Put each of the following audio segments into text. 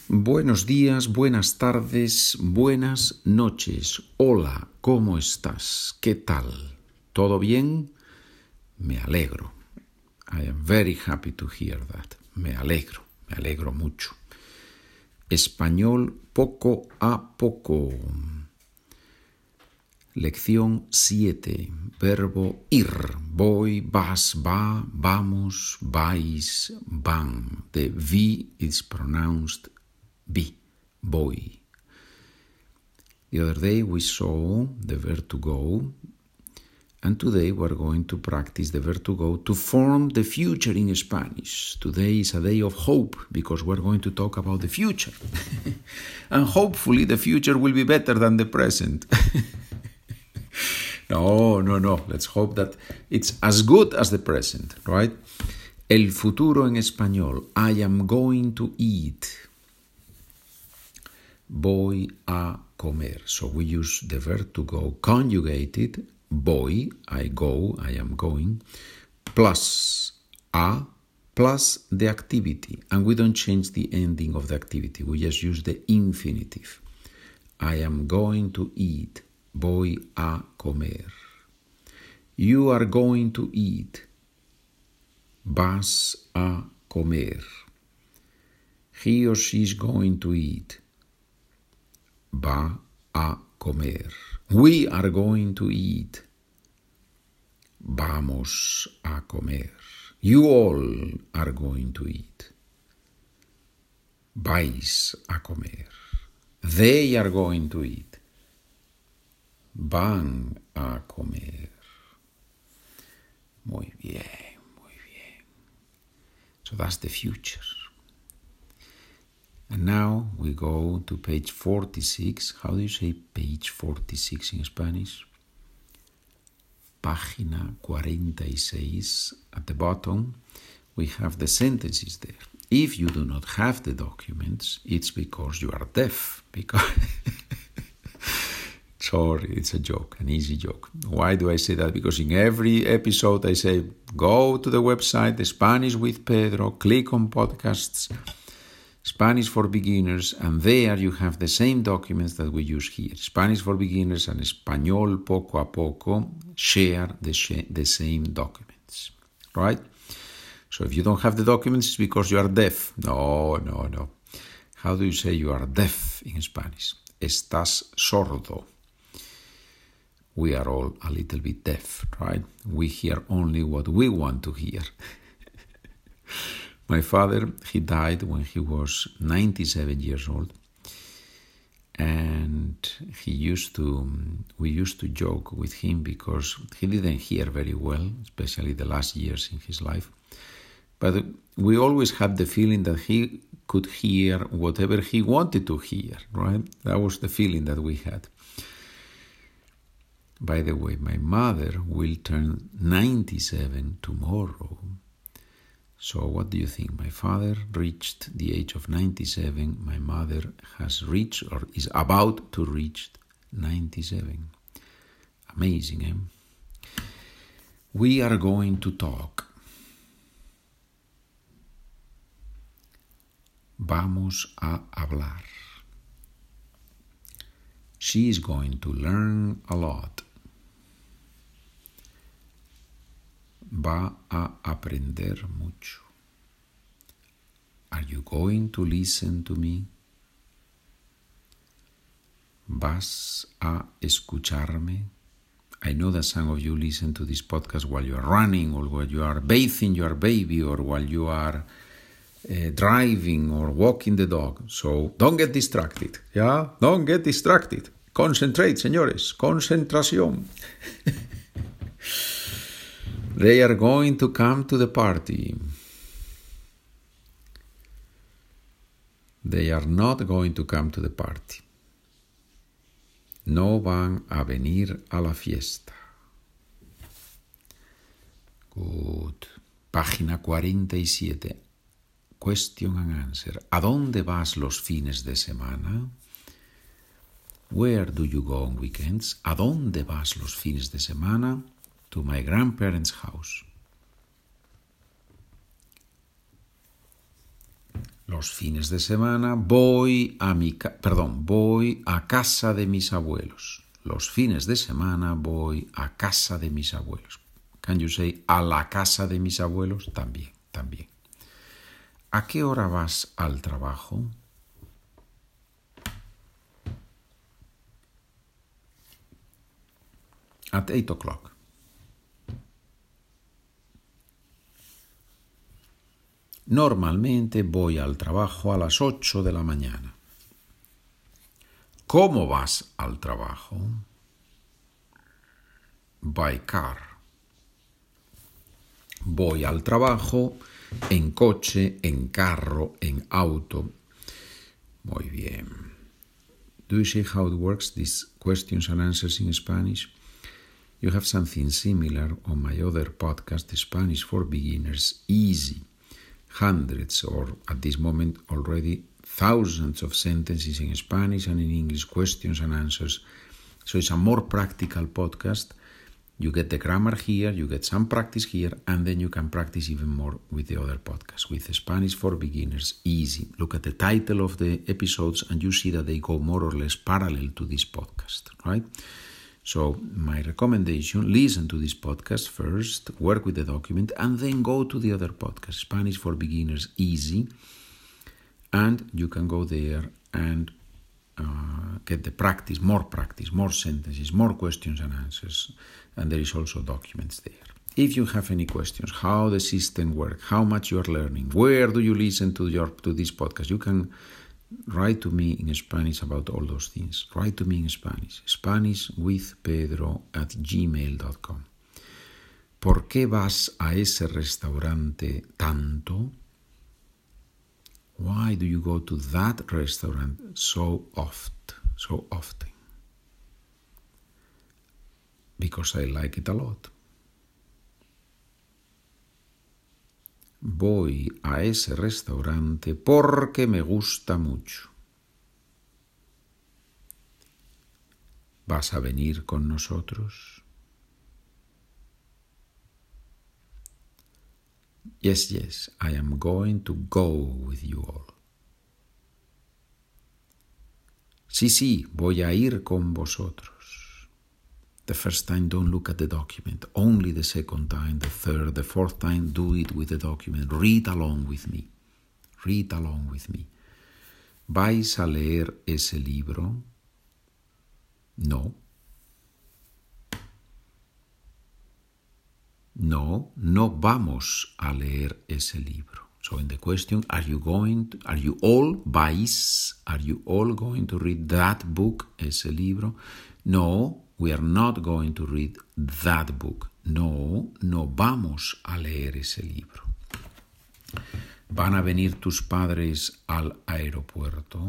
Buenos días, buenas tardes, buenas noches. Hola, ¿cómo estás? ¿Qué tal? ¿Todo bien? Me alegro. I am very happy to hear that. Me alegro mucho. Español poco a poco. Lección 7. Verbo ir. Voy, vas, va, vamos, vais, van. The V is pronounced be, voy. The other day we saw the verb to go, and today we're going to practice the verb to go to form the future in Spanish. Today is a day of hope because we're going to talk about the future. And hopefully the future will be better than the present. No. Let's hope that it's as good as the present, right? El futuro en español. I am going to eat. Voy a comer. So we use the verb to go conjugated. Voy, I go, I am going, plus a, plus the activity. And we don't change the ending of the activity. We just use the infinitive. I am going to eat. Voy a comer. You are going to eat. Vas a comer. He or she is going to eat. Va a comer. We are going to eat. Vamos a comer. You all are going to eat. Vais a comer. They are going to eat. Van a comer. Muy bien. So that's the future. And now we go to page 46. How do you say page 46 in Spanish? Página 46. At the bottom, we have the sentences there. If you do not have the documents, it's because you are deaf. Sorry, it's a joke, an easy joke. Why do I say that? Because in every episode I say, go to the website, The Spanish with Pedro, click on podcasts, Spanish for Beginners, and there you have the same documents that we use here. Spanish for Beginners and Español poco a poco share the same documents, right? So if you don't have the documents, it's because you are deaf. No. How do you say you are deaf in Spanish? Estás sordo. We are all a little bit deaf, right? We hear only what we want to hear. My father, he died when he was 97 years old. And we used to joke with him because he didn't hear very well, especially the last years in his life. But we always had the feeling that he could hear whatever he wanted to hear, right? That was the feeling that we had. By the way, my mother will turn 97 tomorrow. So what do you think? My father reached the age of 97. My mother has reached or is about to reach 97. Amazing, eh? We are going to talk. Vamos a hablar. She is going to learn a lot. Va a aprender mucho. Are you going to listen to me? ¿Vas a escucharme? I know that some of you listen to this podcast while you are running or while you are bathing your baby or while you are driving or walking the dog. So don't get distracted. Yeah? Don't get distracted. Concentrate, señores. Concentración. They are going to come to the party. They are not going to come to the party. No van a venir a la fiesta. Good. Página 47. Question and answer. ¿A dónde vas los fines de semana? Where do you go on weekends? ¿A dónde vas los fines de semana? To my grandparents' house. Los fines de semana voy a casa de mis abuelos. Los fines de semana voy a casa de mis abuelos. Can you say a la casa de mis abuelos? También. ¿A qué hora vas al trabajo? At 8 o'clock. Normalmente voy al trabajo a las 8 de la mañana. ¿Cómo vas al trabajo? By car. Voy al trabajo en coche, en carro, en auto. Muy bien. Do you see how it works, these questions and answers in Spanish? You have something similar on my other podcast, Spanish for Beginners, Easy. Hundreds, or at this moment already thousands of sentences in Spanish and in English, questions and answers. So it's a more practical podcast. You get the grammar here, you get some practice here, and then you can practice even more with the other podcasts, with Spanish for Beginners, Easy. Look at the title of the episodes and you see that they go more or less parallel to this podcast, right? So my recommendation, listen to this podcast first, work with the document, and then go to the other podcast, Spanish for Beginners, Easy, and you can go there and get the practice, more sentences, more questions and answers, and there is also documents there. If you have any questions, how the system works, how much you are learning, where do you listen to this podcast, you can write to me in Spanish about all those things. Write to me in Spanish, SpanishWithPedro@gmail.com. ¿Por qué vas a ese restaurante tanto? Why do you go to that restaurant so often? Because I like it a lot. Voy a ese restaurante porque me gusta mucho. ¿Vas a venir con nosotros? Yes, I am going to go with you all. Sí, voy a ir con vosotros. The first time, don't look at the document. Only the second time, the third, the fourth time, do it with the document. Read along with me. ¿Vais a leer ese libro? No, vamos a leer ese libro. So in the question, are you all going to read that book, ese libro? No, we are not going to read that book. No vamos a leer ese libro. ¿Van a venir tus padres al aeropuerto?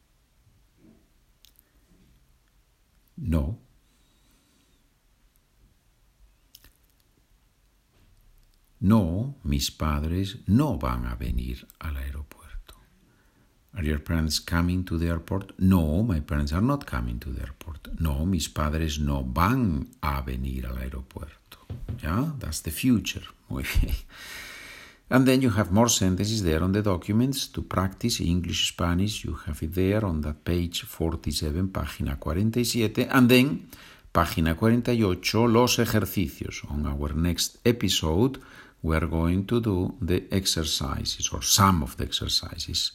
No. No, mis padres no van a venir al aeropuerto. Are your parents coming to the airport? No, my parents are not coming to the airport. No, mis padres no van a venir al aeropuerto. Yeah, that's the future. Muy bien. And then you have more sentences there on the documents to practice English, Spanish. You have it there on that page 47, página 47. And then, página 48, los ejercicios. On our next episode, we are going to do the exercises, or some of the exercises.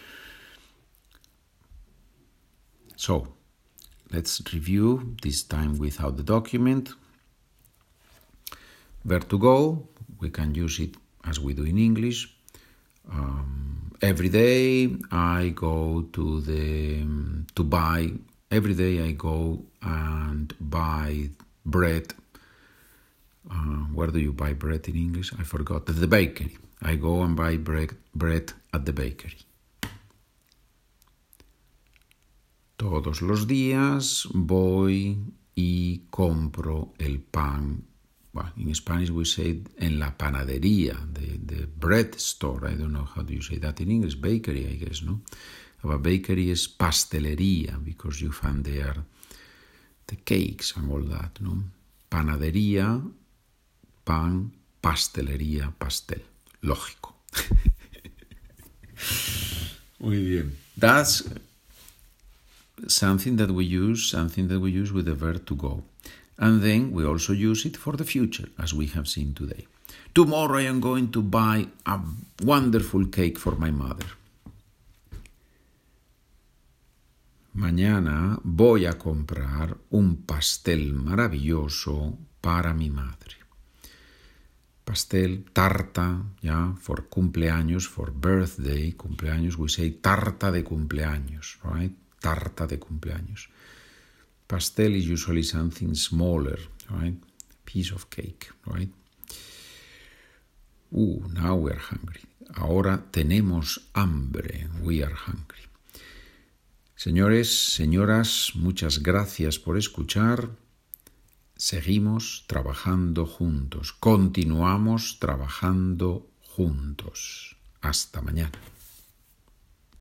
So, let's review, this time without the document. Where to go? We can use it as we do in English. Every day I go every day I go and buy bread. Where do you buy bread in English? I forgot. At the bakery. I go and buy bread at the bakery. Todos los días voy y compro el pan. Well, in Spanish we say en la panadería, the bread store. I don't know how do you say that in English. Bakery, I guess, no? Our bakery is pastelería, because you find there the cakes and all that, no? Panadería, pan, pastelería, pastel. Lógico. Muy bien. That's something that we use with the verb to go. And then we also use it for the future, as we have seen today. Tomorrow I am going to buy a wonderful cake for my mother. Mañana voy a comprar un pastel maravilloso para mi madre. Pastel, tarta, yeah, for cumpleaños, for birthday, cumpleaños, we say tarta de cumpleaños, right? Tarta de cumpleaños. Pastel is usually something smaller, right? Piece of cake, right? Now we are hungry. Ahora tenemos hambre. We are hungry. Señores, señoras, muchas gracias por escuchar. Seguimos trabajando juntos. Continuamos trabajando juntos. Hasta mañana.